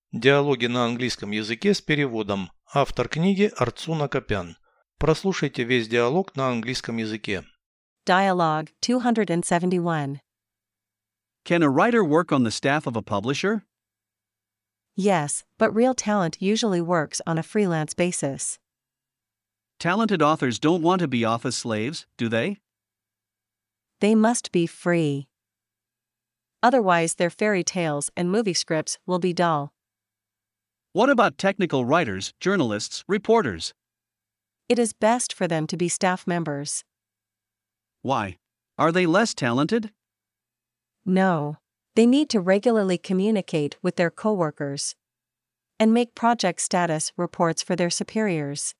Диалоги на английском языке с переводом. Автор книги Арцуна Копян. Прослушайте весь диалог на английском языке. Dialogue 271. Can a writer work on the staff of a publisher? Yes, but real talent usually works on a freelance basis. Talented authors don't want to be office slaves, do they? They must be free. Otherwise, their fairy tales and movie scripts will be dull. What about technical writers, journalists, reporters? It is best for them to be staff members. Why? Are they less talented? No. They need to regularly communicate with their coworkers and make project status reports for their superiors.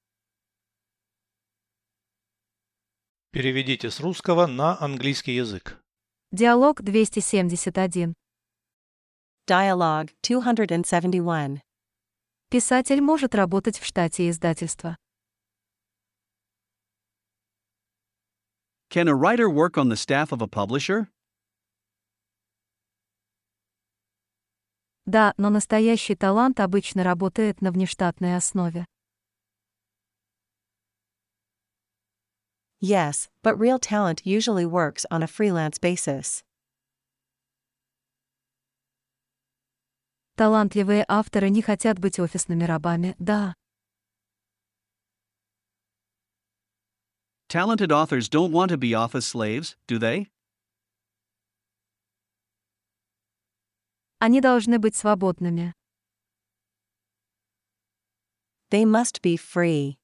Переведите с русского на английский язык. Диалог 271. Dialogue 271. Писатель может работать в штате издательства. Can a writer work on the staff of a publisher? Да, но настоящий талант обычно работает на внештатной основе. Yes, but real talent usually works on a freelance basis. Талантливые авторы не хотят быть офисными рабами, да. Talented authors don't want to be office slaves, do they? Они должны быть свободными. They must be free.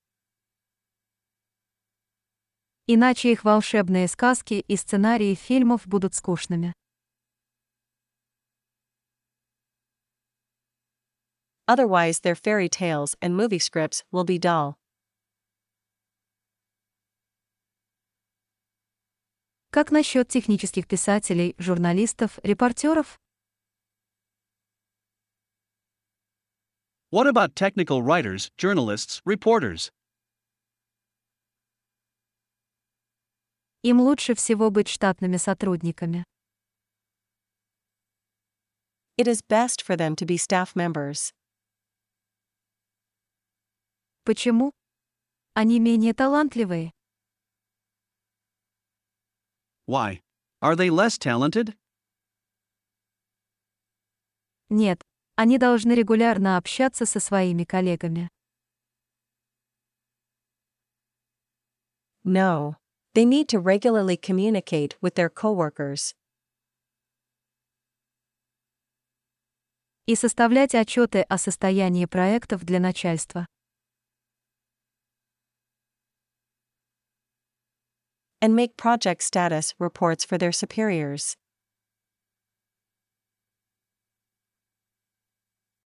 Иначе их волшебные сказки и сценарии фильмов будут скучными. Otherwise, their fairy tales and movie scripts will be dull. Как насчет технических писателей, журналистов, репортеров? What about technical writers, journalists, reporters? Им лучше всего быть штатными сотрудниками. It is best for them to be staff members. Почему? Они менее талантливые. Why? Are they less talented? Нет, они должны регулярно общаться со своими коллегами. No. They need to regularly communicate with their coworkers И составлять отчеты о состоянии проектов для начальства. and make project status reports for their superiors.